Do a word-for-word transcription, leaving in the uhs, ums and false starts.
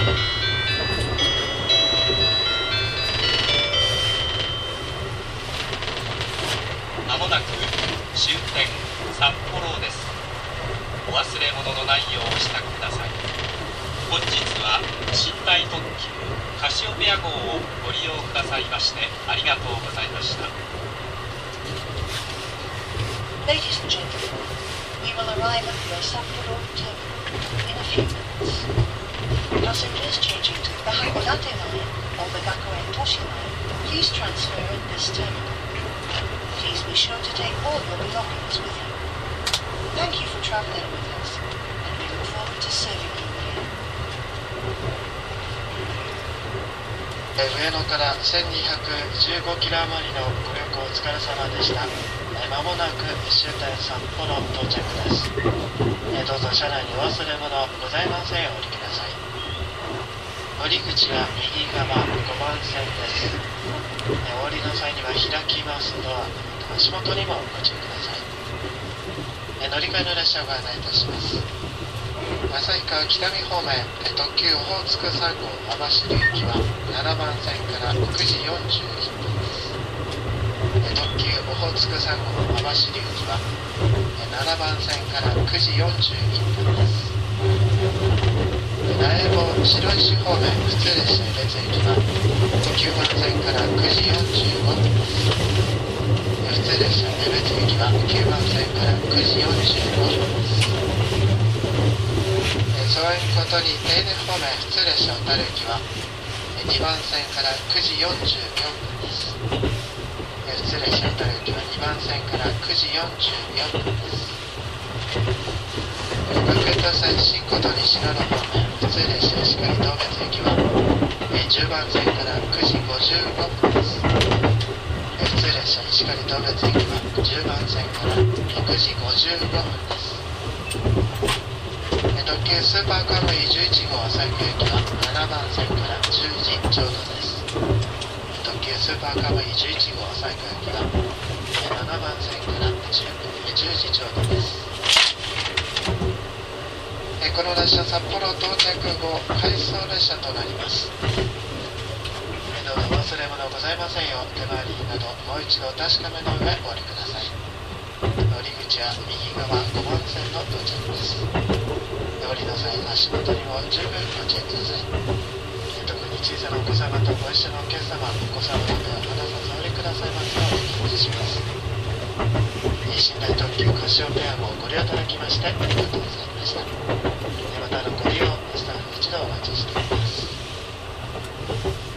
まもなく終点札幌です。お忘れ物のないようお支度ください。本日は寝台特急カシオペア号をご利用くださいましてありがとうございました。 Ladies and gentlemen, we will arrive at the Sapporo terminal in a few minutes. Passengers changing to the Hakodate line or the Gakuen Toshi line, please transfer at this terminal. Please be sure to take all your belongings with you. Thank you for traveling with us, and we look forward to serving you again. 上野からせんにひゃくじゅうごキロ余りのご旅行お疲れ様でした。まもなく終点札幌到着です。どうぞ車内にお忘れ物ございませんようお降りください。降り口は右側ごばん線です。お降りの際には開きますドア、足元にもご注意ください。乗り換えの列車をご案内いたします。旭川北見方面特急オホーツクさん号網走行きはななばん線からくじよんじゅういっぷんです。特急オホーツクさん号網走行きはななばん線からくじよんじゅういっぷんです。苗穂白石方面普通列車江別行きはきゅうばん線からくじよんじゅうごふんです。普通列車江別行きはきゅうばん線からくじよんじゅうごふんです。そういうことに手稲方面普通列車小樽行きはにばん線からくじよんじゅうよんぷんです。普通列車小樽行きはにばん線からくじよんじゅうよんぷんです。学園都線新琴西野の方面普通列車石狩東別行きはじゅうばん線からくじごじゅうごふんです。普通列車石狩東別行きはじゅうばん線からくじごじゅうごふんです。特急スーパーカムイじゅういち号旭川行きはななばん線からじゅうじちょうどです。特急スーパーカムイじゅういち号旭川行きはななばん線からじゅうじちょうどです。この列車札幌到着後回送列車となります。どうぞお忘れ物ございませんよう手回りなどもう一度お確かめの上お降りください。降り口は右側ごばん線の到着です。降りの際足元にも十分ご注意ください。特に小さなお子様とご一緒のお客様、お子様の手を離さずお降りくださいますようお願いします。寝台特急カシオペア号をご利用いただきましてありがとうございました。またのご利用スタッフ一同お待ちしています。